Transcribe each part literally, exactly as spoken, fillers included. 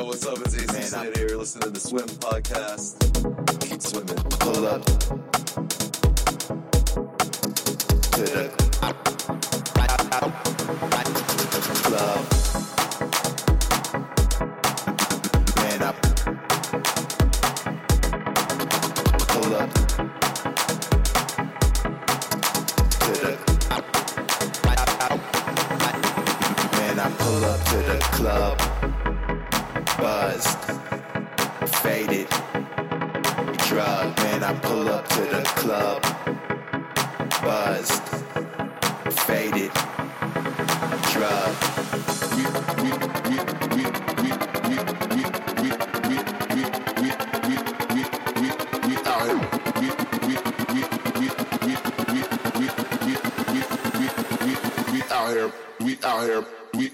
what's up? It's A C Smith here. Listen to the Swim podcast. Keep swimming. Pull up to the club. Man up. Pull up to the man. I pull up to the club. Buzzed, faded, drug. Man, I pull up to the club. Buzzed, faded, drug. We we we we we we we we we we we we we we out here. We we we we we we we we we we we out here. We out here. We.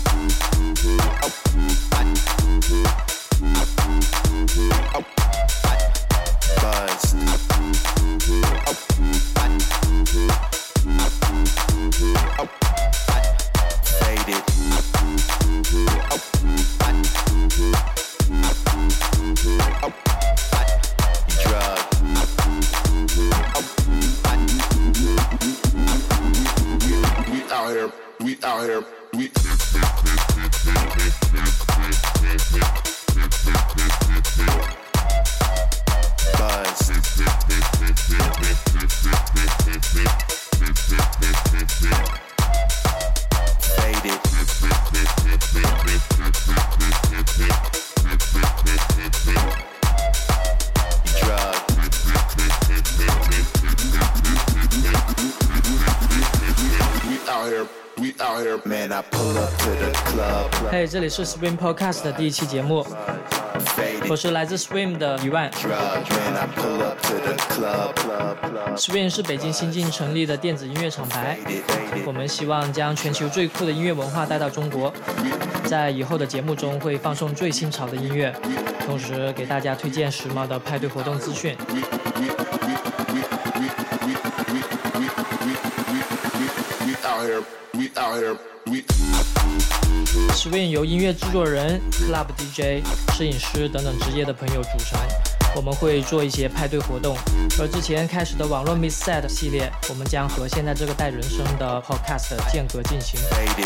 嘿、hey, 这里是 Swim Podcast 的第一期节目，我是来自 Swim 的一万。Swim 是北京新近成立的电子音乐厂牌，我们希望将全球最酷的音乐文化带到中国，在以后的节目中会放送最新潮的音乐，同时给大家推荐时髦的派对活动资讯。Swim 由音乐制作人、Club D J、摄影师等等职业的朋友组成，我们会做一些派对活动。而之前开始的网络 Mix Set 系列，我们将和现在这个代人声的 Podcast 间隔进行。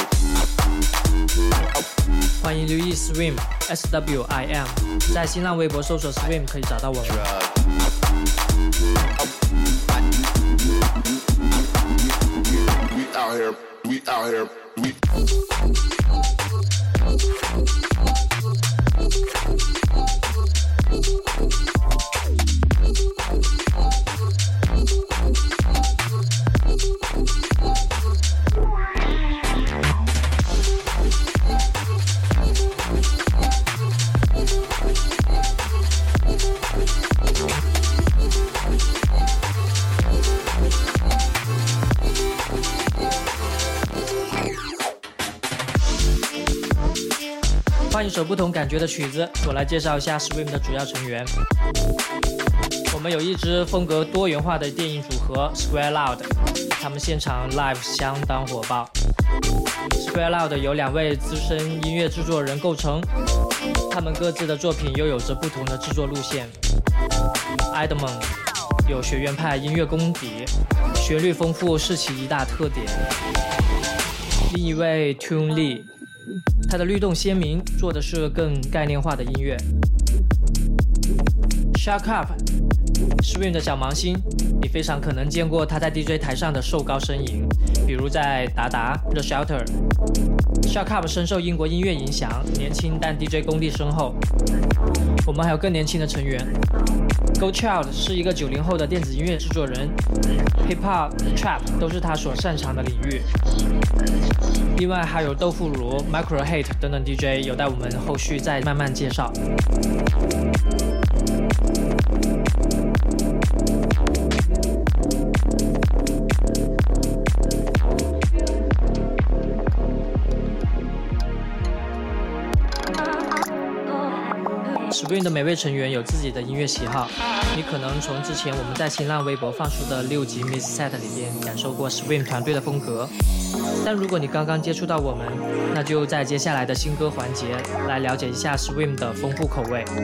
欢迎留意 Swim S W I M， 在新浪微博搜索 Swim 可以找到我们。 We out here, we out here, we. 换一首不同感觉的曲子，我来介绍一下 Swim 的主要成员。我们有一支风格多元化的电影组合 Square Loud， 他们现场 live 相当火爆。Square Loud 由两位资深音乐制作人构成，他们各自的作品又有着不同的制作路线。Edmond 有学院派音乐功底，旋律丰富是其一大特点。另一位 Tune Lee，他的律动鲜明，做的是更概念化的音乐。Shut Up Swim 的小芒星，你非常可能见过他在 D J 台上的瘦高身影，比如在达达 The Shelter。Shut Up 深受英国音乐影响，年轻但 D J 功力深厚。我们还有更年轻的成员 Go Child 是一个九零后的电子音乐制作人， Hip Hop、Trap 都是他所擅长的领域。另外还有豆腐乳、Micro Hate 等等 D J， 有待我们后续再慢慢介绍。 Swing 的每位成员有自己的音乐喜好，你可能从之前我们在新浪微博放出的六集 Miss Set 里边感受过 Swing 团队的风格，但如果你刚刚接触到我们，那就在接下来的新歌环节来了解一下 Swing 的丰富口味。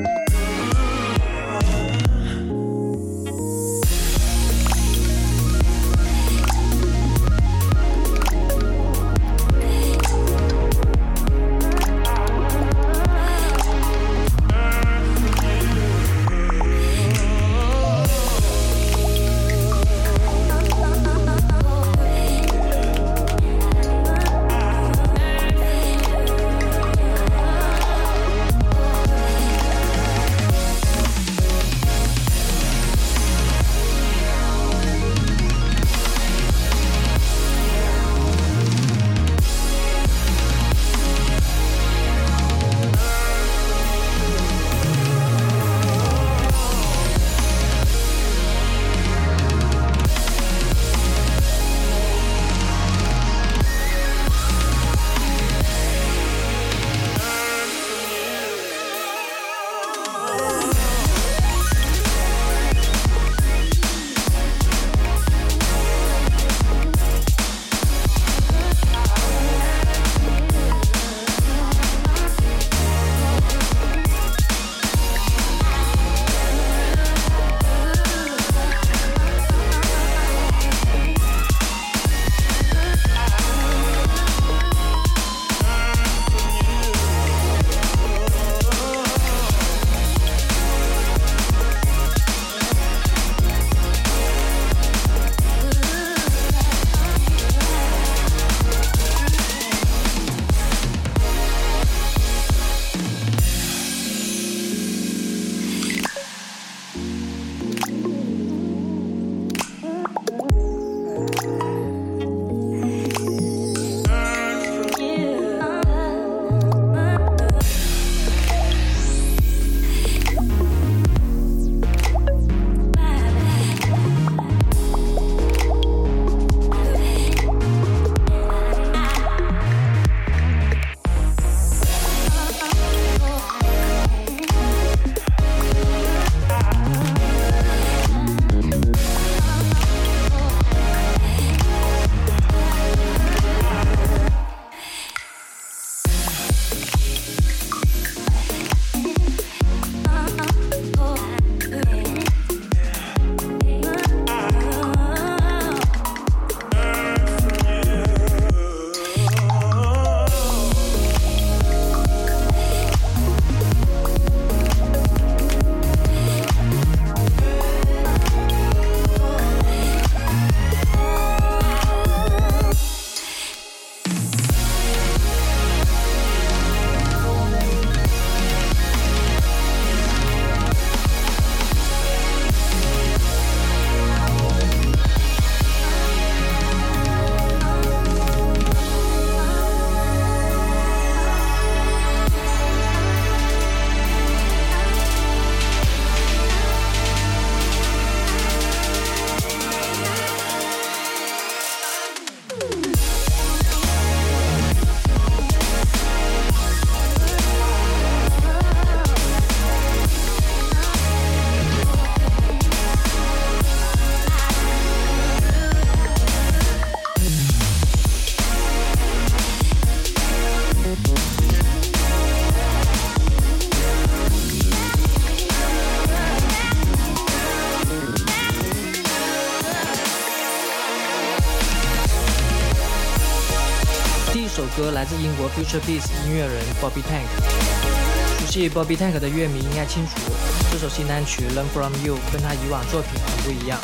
首歌来自英国 Future Beats 音乐人 Bobby Tank。熟悉 Bobby Tank 的乐迷应该清楚，这首新单曲 Learn From You 跟他以往作品很不一样。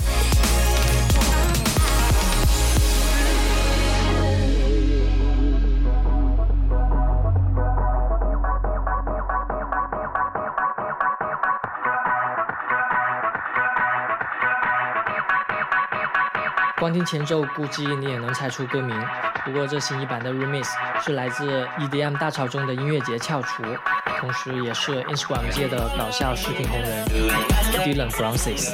光听前奏，估计你也能猜出歌名。不过这新一版的 remix 是来自 E D M 大潮中的音乐节翘楚，同时也是 Instagram 界的搞笑视频红人 Dylan Francis。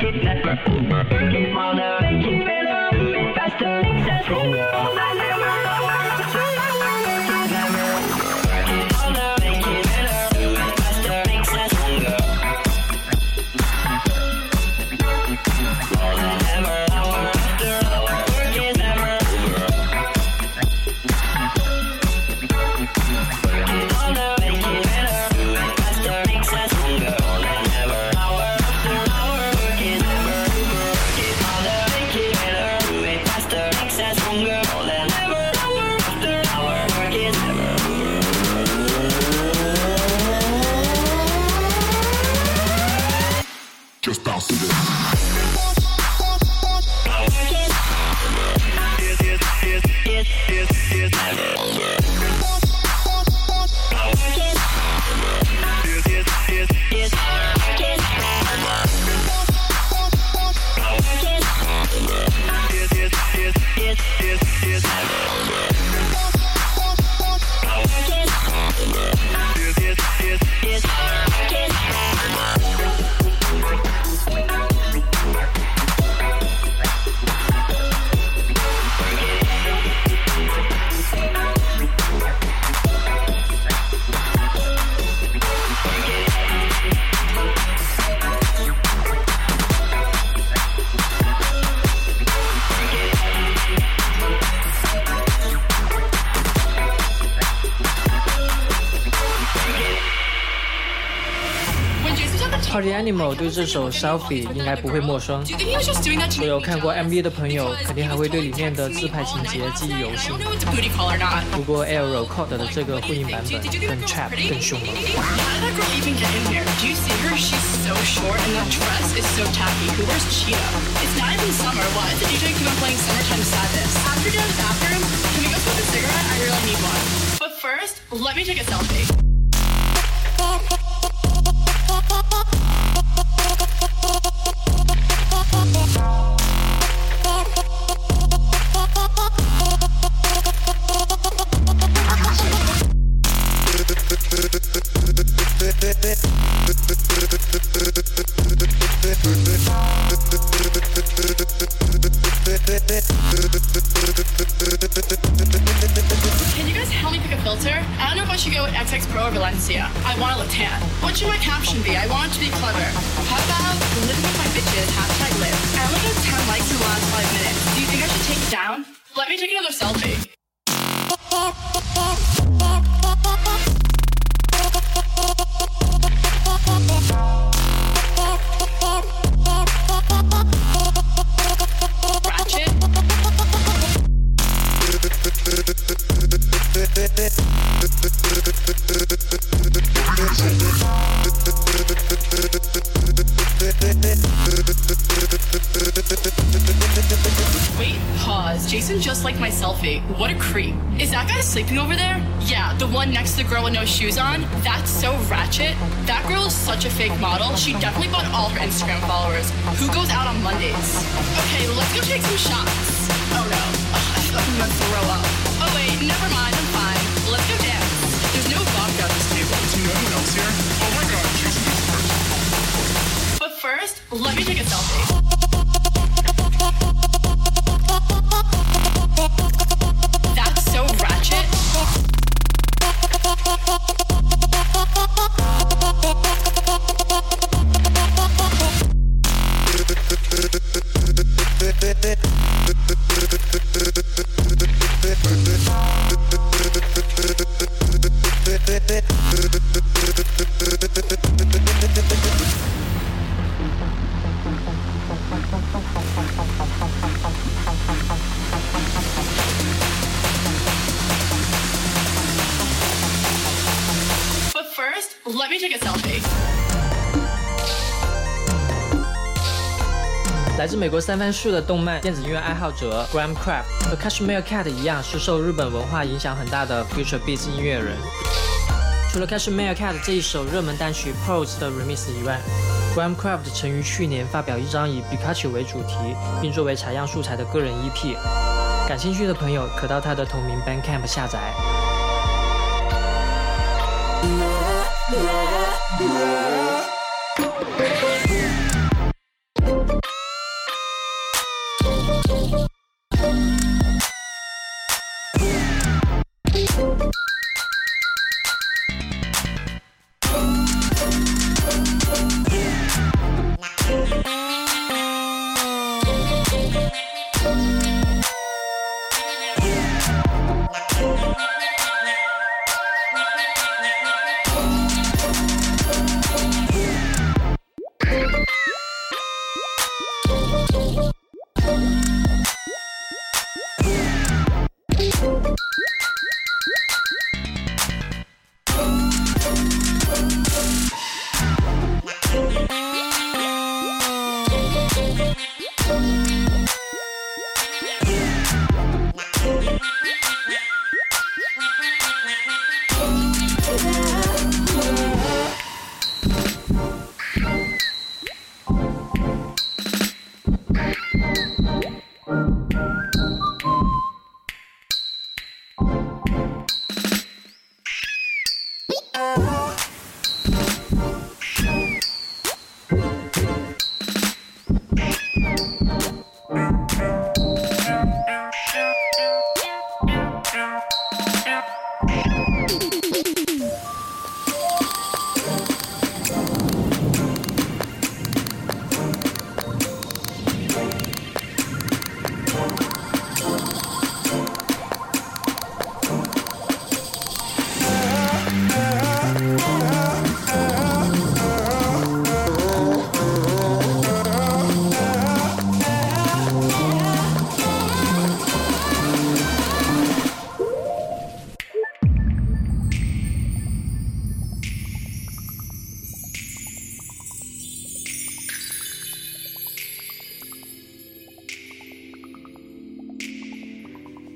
Just bounce to this. Party Animal 对这首 Selfie 应该不会陌生，所有看过 M V 的朋友肯定还会对里面的自拍情节记忆犹新。不过 Aero Code 的这个混音版本更 trap 更凶猛。 But first, let me take a selfie. Can you guys help me pick a filter? I don't know if I should go with X X Pro or Valencia. I want to look tan. What should my caption be? I want it to be clever. How about living with my bitches, hashtag live. I only got ten likes in the last five minutes. Do you think I should take it down? Let me take another selfie. Wait, pause. Jason just liked my selfie. What a creep. Is that guy sleeping over there? Yeah, the one next to the girl with no shoes on? That's so ratchet. That girl is such a fake model. She definitely bought all her Instagram followers. Who goes out on Mondays? Okay, let's go take some shots. Oh no. Ugh, I feel like I'm gonna throw up. Oh wait, never mind. I'm fine. Let's go dance. There's no vodka at this table. Is no one else here? Oh my god, Jason goes first. But first, let me take a selfie. That's so ratchet. But first, let me take a selfie. 来自美国三藩市的动漫电子音乐爱好者 Graham Craft 和 Cashmere Cat 一样，是受日本文化影响很大的 Future Beats 音乐人。除了 Cashmere Cat 这一首热门单曲 Pose 的 remix 以外， Graham Craft 曾于去年发表一张以 Pikachu 为主题，并作为采样素材的个人 E P。感兴趣的朋友可到他的同名 Bandcamp 下载。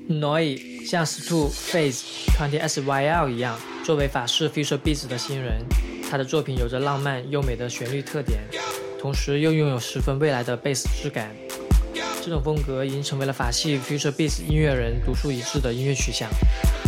Noi 像 Stu、Phase、二十 Y L 一样，作为法式 Future Beats 的新人，他的作品有着浪漫优美的旋律特点，同时又拥有十分未来的贝斯质感。这种风格已经成为了法系 Future Beats 音乐人独树一帜的音乐取向。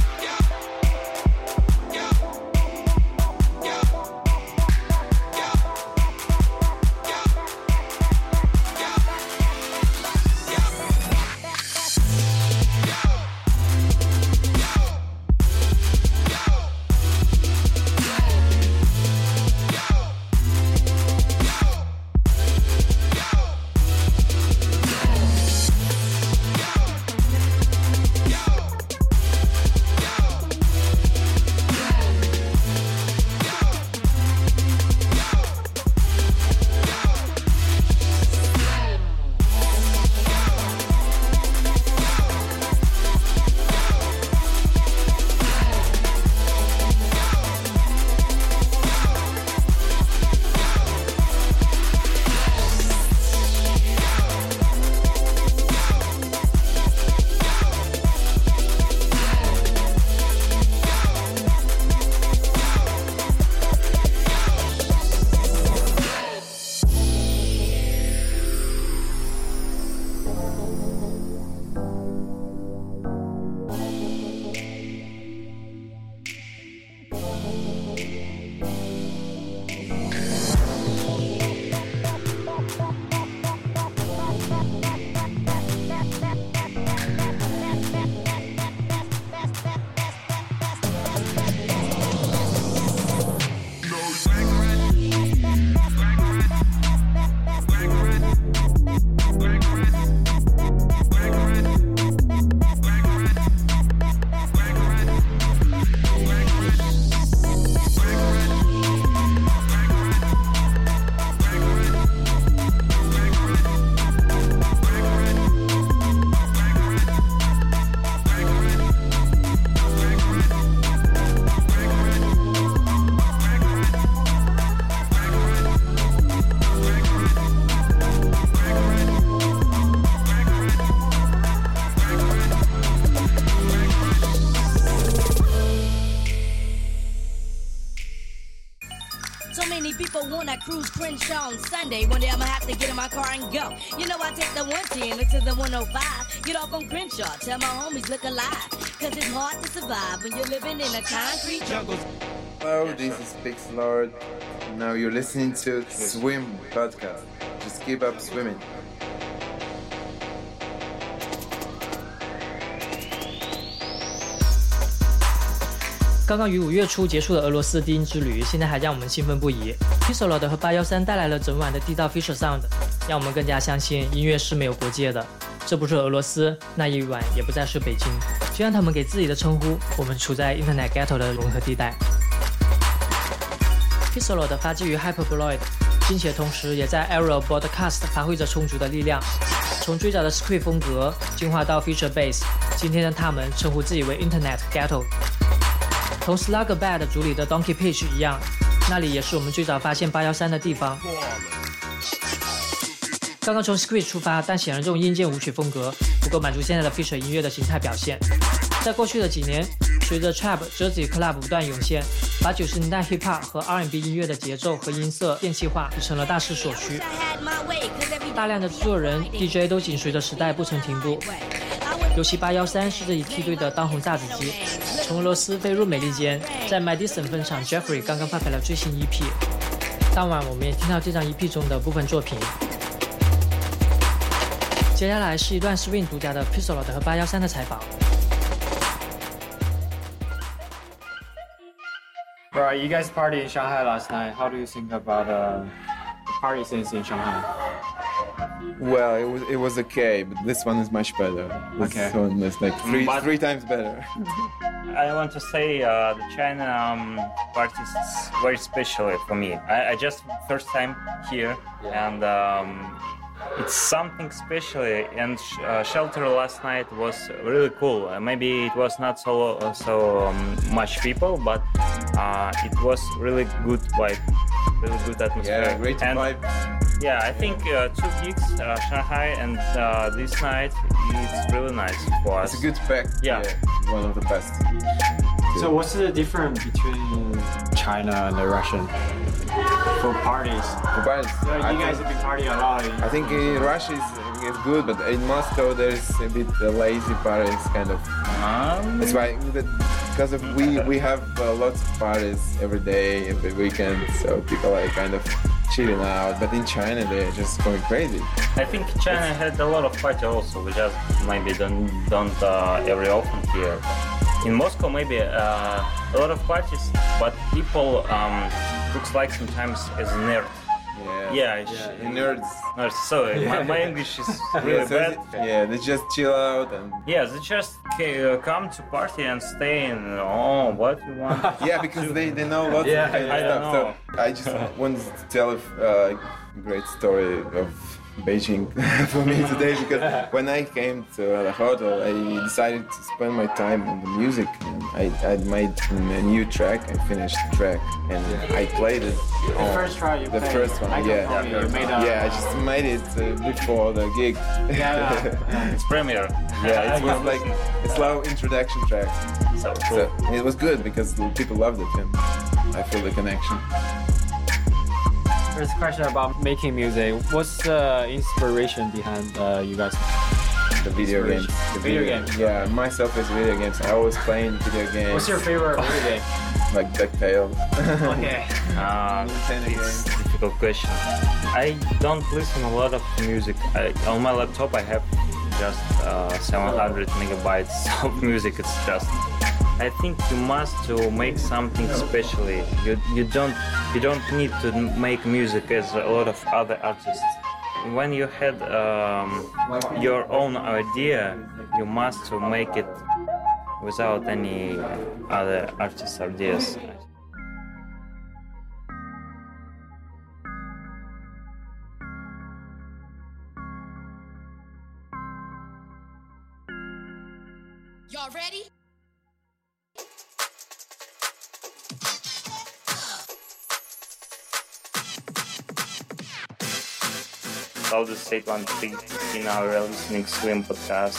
Cruise Crenshaw on Sunday. One day I'ma have to get in my car and go. You know I take the one ten to the one oh five. Get off on Crenshaw, tell my homies look alive. Cause it's hard to survive when you're living in a concrete jungle. Hello, this is Pixlord. Now you're listening to Swim Podcast. Just keep up swimming. 刚刚于五月初结束的俄罗斯低音之旅，现在还让我们兴奋不已。Pixlord 和八一三带来了整晚的地道 Future Sound， 让我们更加相信音乐是没有国界的。这不是俄罗斯，那一晚也不再是北京。就像他们给自己的称呼，我们处在 Internet Ghetto 的融合地带。Pixlord 发迹于 Hyperboloid， 并且同时也在 Aerial Broadcast 发挥着充足的力量。从最早的 Script 风格进化到 Future Bass， 今天的他们称呼自己为 Internet Ghetto。同 Slugabad 主理的 Donkey Pitch 一样，那里也是我们最早发现八一三的地方。刚刚从 Squid 出发，但显然这种硬件舞曲风格不够满足现在的 Future 音乐的形态表现。在过去的几年，随着 Trap、Jersey Club 不断涌现，把九十年代 Hip Hop 和 R and B 音乐的节奏和音色电气化就成了大势所趋。大量的制作人、D J 都紧随着时代不曾停步。尤其八一三是这一梯队的当红炸子鸡。从俄罗斯飞入美利坚，在 Madison 分厂 Jeffrey 刚刚发表了最新 E P。当晚我们也听到这张 E P 中的部分作品。接下来是一段 Swing 独家的 Pixlord 和八一三的采访。 Right, you guys partied in Shanghai last night. How do you think about uh, the party scenes in Shanghai? Well, it was it was okay, but this one is much better. This Okay. one is like three But- three times better. I want to say uh, the China um, party is very special for me. I, I just first time here, and um, it's something special. And sh- uh, Shelter last night was really cool. Uh, maybe it was not so uh, so um, much people, but uh, it was really good vibe, really good atmosphere. Yeah, great and, vibe. Yeah, I think uh, two gigs, uh, Shanghai and uh, this night, it's really nice for us. It's a good pack. Yeah. yeah one of the best. So what's the difference between China and the Russian for parties? For parties, So you I guys think, have been partying a lot. I think in Russia is, is good, but in Moscow there's a bit uh, lazy parties kind of. Um, That's why because of we we have uh, lots of parties every day, every weekend, so people are kind of chilling out. But in China they're just going crazy. I think China had a lot of party also. We just maybe don't don't uh, every often here. In Moscow, maybe uh, a lot of parties, but people um, looks like sometimes as nerd. Yeah. Yeah, yeah. Nerds. Nerds. Sorry, my, my English is really yeah, so bad. They, yeah, they just chill out and. Yeah, they just ca- come to party and stay in. Oh, what you want? Yeah, because they, they know lots Yeah, of kind of I stuff. don't know. So I just wanted to tell a uh, great story of Beijing for me today, because when I came to the hotel, I decided to spend my time on the music. And I, I made a new track. I finished the track and I played it. The on first try you The played, first one, I yeah. told you, you made a, Yeah, I just made it uh, before the gig. Yeah. It's premiere. Yeah, it was like a slow introduction track. So cool. So it was good because people loved it and I feel the connection. First question about making music. What's the inspiration behind uh, you guys? The video games. The Video games. Yeah, myself is video games. I always playing video games. What's your favorite video game? Like DuckTales. Okay. Uh, Nintendo it's games. a difficult question. I don't listen a lot of music. I, on my laptop, I have just uh, seven hundred megabytes of music. It's just. I think you must to make something specially. You you don't you don't need to make music as a lot of other artists. When you had um, your own idea, you must to make it without any other artists' ideas. Y'all ready? I'll just say one thing in our listening Swim podcast.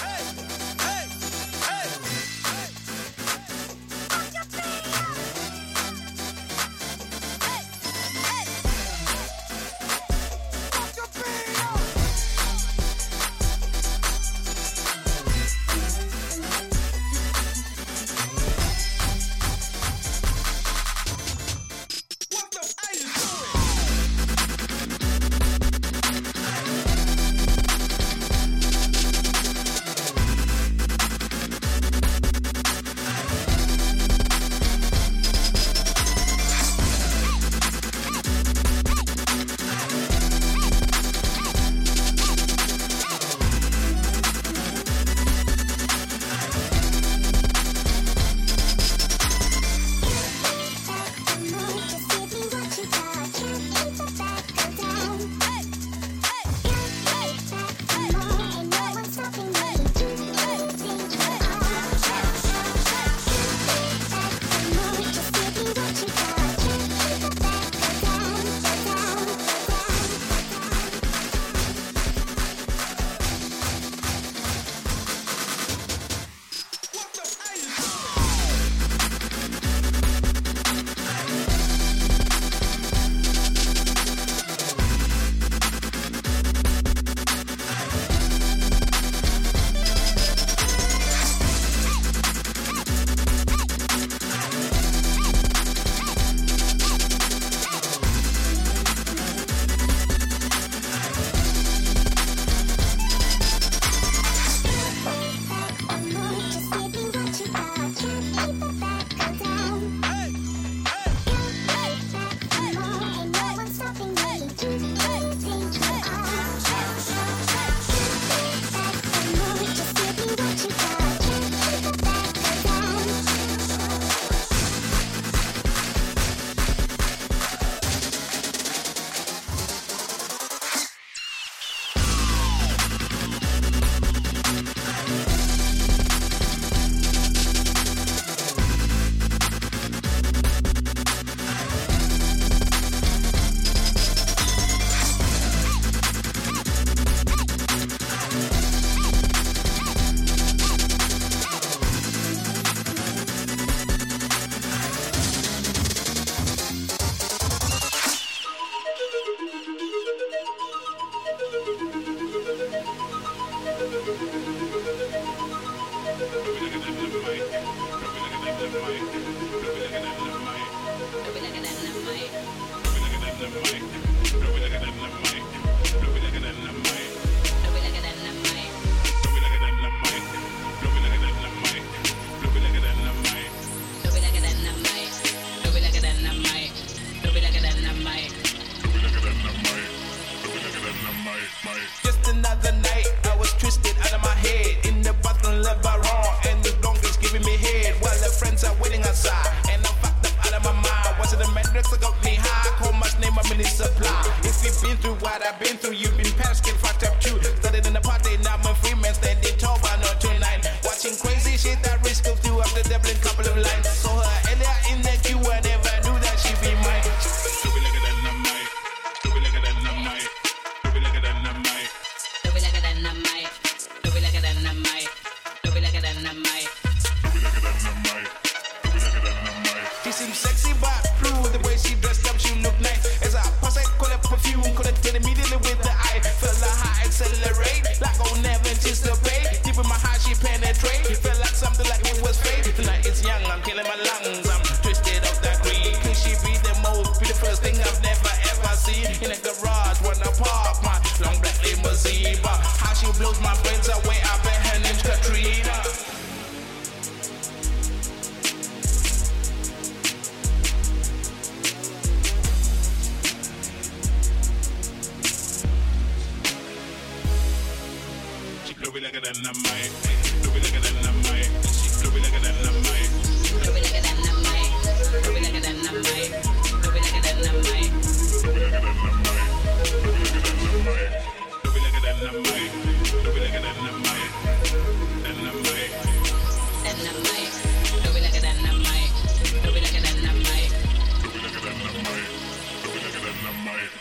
drugs that got me high. Call my name, I'm in the supply. If you've been through what I've been through, you've been past, get fucked up too. Started in the party, now I'm a free man, standing tall by not tonight. Watching crazy shit, that risk of through up the Dublin couple of lines. Saw her earlier in the queue, I never knew that she'd be mine. Do we look at that dynamite? Do we look at that dynamite? Do we look at that dynamite? Do we look at that dynamite? Do we look at that dynamite? Do we look at that dynamite? Do we look at that dynamite? Do we look at that dynamite? She seems sexy but blue, the way she dressed up, she look nice. As I pass, I call it perfume, call it fit immediately with the eye. Feel like high accelerate, like I'll never anticipate. Deep in my heart, she penetrate. Felt like something like it was fate. Tonight it's young, I'm killing my lungs, I'm twisted off that green. Could she be the most beautiful thing I've never ever seen? In a garage, when I park my long black limousine. But how she blows my brains away, I bet her name's Katrina. Do we look at that dynamite? Do we look at that dynamite? Do we look at that dynamite? Do we look at that dynamite? Do we look at that dynamite? Do we look at that dynamite? Do we look at that dynamite? Do we look at that dynamite? Do we look at that dynamite? Dynamite. Dynamite. Do we look at that dynamite? Do we look at that dynamite? Do we look at that dynamite? Do we look at that dynamite?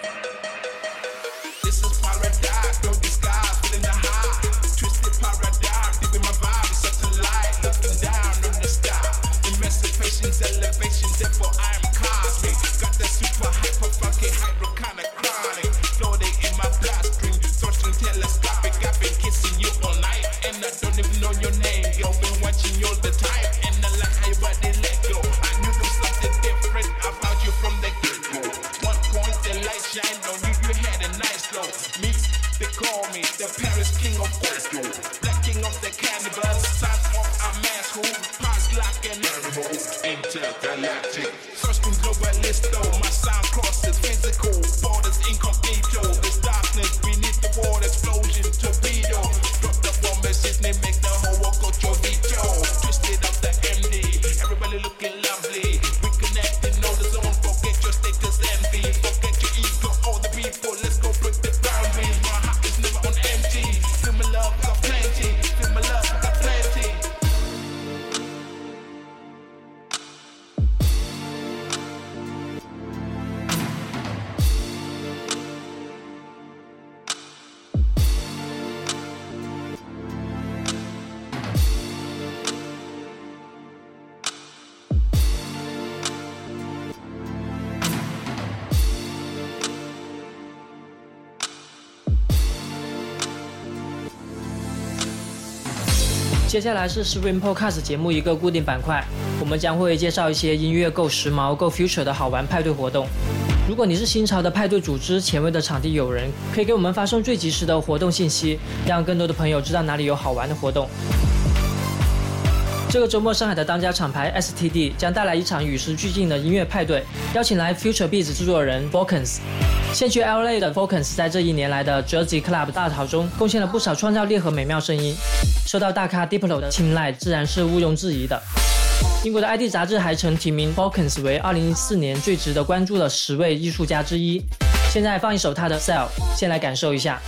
This is paradise, no disguise, feeling the high. Twisted paradigm, deep in my vibe, it's such a light. Looking down on the sky. Emancipation's elevation, therefore I'm cosmic. Got that super hyper funky hydro kind of chronic. Floating in my bloodstream, touching telescopic. I've been kissing you all night, and I don't even know your name. Girl, been watching you all the time, and I like how your body let go. I knew there was something different about you from the get-go. One point, the light shined on you, you had a nice glow. Me, they call me the Paris king of Oslo. Black king of the cannibals, son of a man who passed like an animal. Intergalactic, searching globalisto. My sound crosses physical borders incognito. There's darkness beneath the water, explosion torpedo. Drop the bomb message, they make the whole world go chorito. Twisted up the M D, everybody looking lovely. We connecting all the zone, forget your status envy. Forget your ego, all the people, let's go break the boundaries. My heart is never on empty. Feel my love, got plenty. Feel my love, got plenty. 接下来是 Swing Podcast 节目一个固定板块，我们将会介绍一些音乐够时髦、够 future 的好玩派对活动。如果你是新潮的派对组织、前卫的场地友人，可以给我们发送最及时的活动信息，让更多的朋友知道哪里有好玩的活动。这个周末，上海的当家厂牌 S T D 将带来一场与时俱进的音乐派对，邀请来 Future Beats 制作人 Falcons。现居 L A 的 Falcons 在这一年来的 Jersey Club 大潮中，贡献了不少创造力和美妙声音，受到大咖 Diplo 的青睐，自然是毋庸置疑的。英国的 I D 杂志还曾提名 Falcons 为二零一四年最值得关注的十位艺术家之一。现在放一首他的 Cell， 先来感受一下。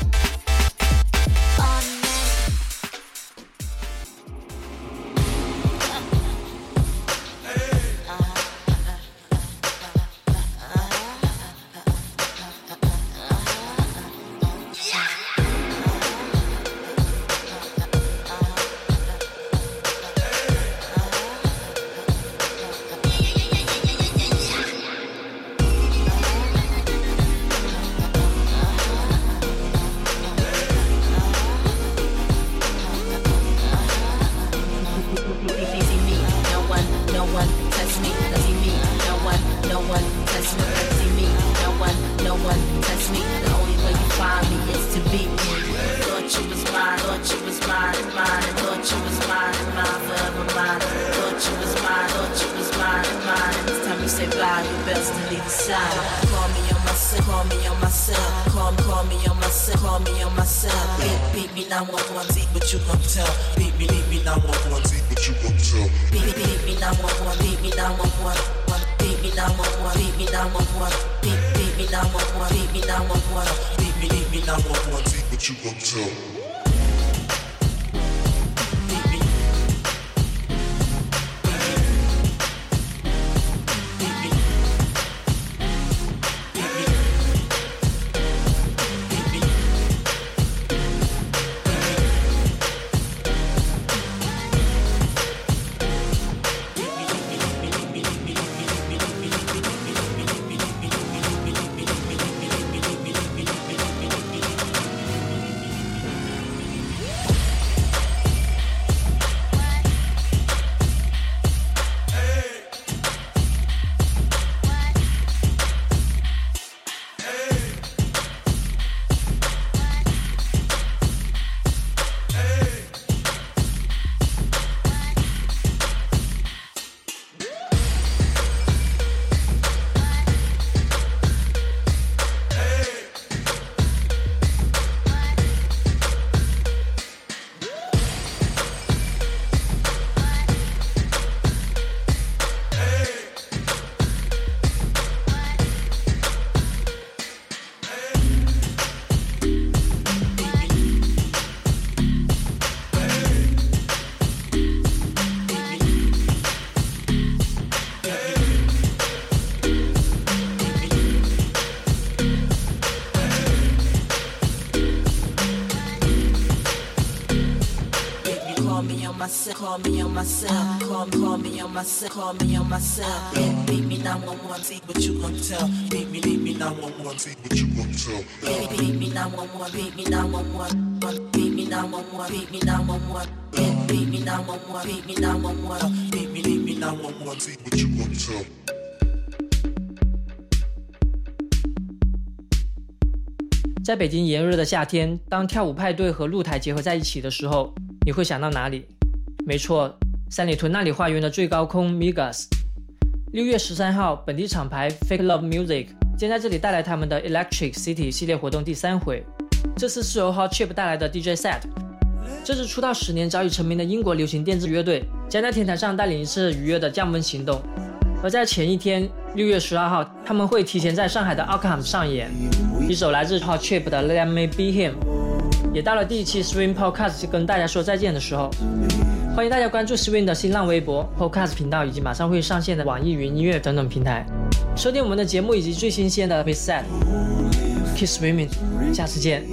Beat me, beat me, now one one. Beat me, now one one. Beat me, now one one. nine one one. Beat me, beat me nine one one. See what you gon' tell. Call me on my cell, call, call me on my cell, call me on my cell. Yeah, beat me nine one one, see what you gon' tell. Beat me, beat me nine one one, see what you gon' tell. Beat, beat me nine one one, beat me nine one one, beat me nine one one, beat me nine one one. Yeah, beat me nine one one, beat me nine one one, beat me, beat me nine one one, see what you gon' tell. 在北京炎热的夏天，当跳舞派对和露台结合在一起的时候，你会想到哪里？没错，三里屯那里花园的最高空 Migas。六月十三号，本地厂牌 Fake Love Music 将在这里带来他们的 Electric City 系列活动第三回。这次是由 Hot Chip 带来的 D J set。这支出道十年早已成名的英国流行电子乐队，将在天台上带领一次愉悦的降温行动。而在前一天，六月十二号，他们会提前在上海的 Arkham 上演。一首来自 Hot Chip 的 Let Me Be Him。也到了第一期 Swing Podcast 跟大家说再见的时候，欢迎大家关注 Swing 的新浪微博、Podcast 频道以及马上会上线的网易云音乐等等平台，收听我们的节目以及最新鲜的 Preset。Keep Swimming， 下次见。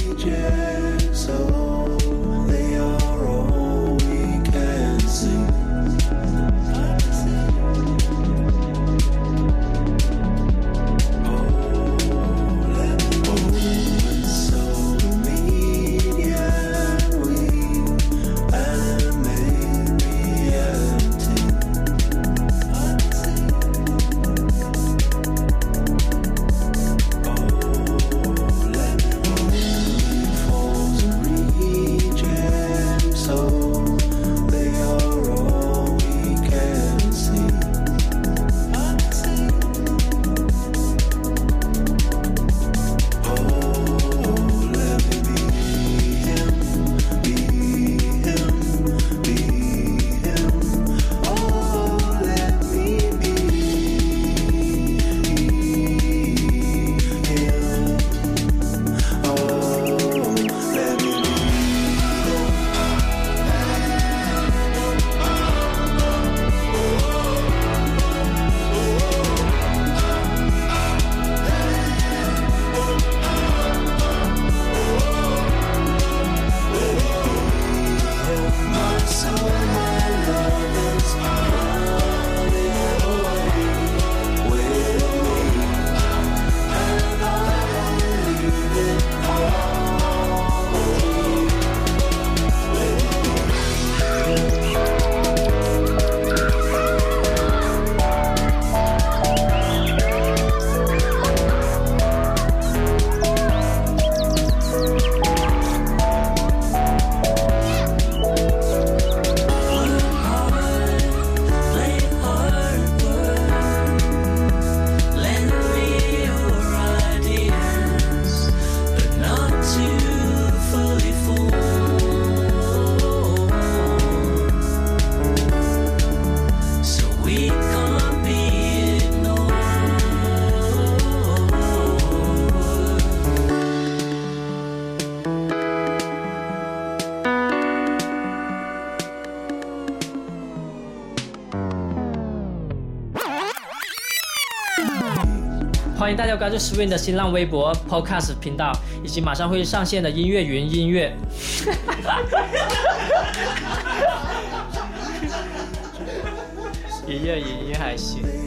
Reach 欢迎大家关注 Swing 的新浪微博 Podcast 频道，以及马上会上线的音乐云音乐。音乐云音还行。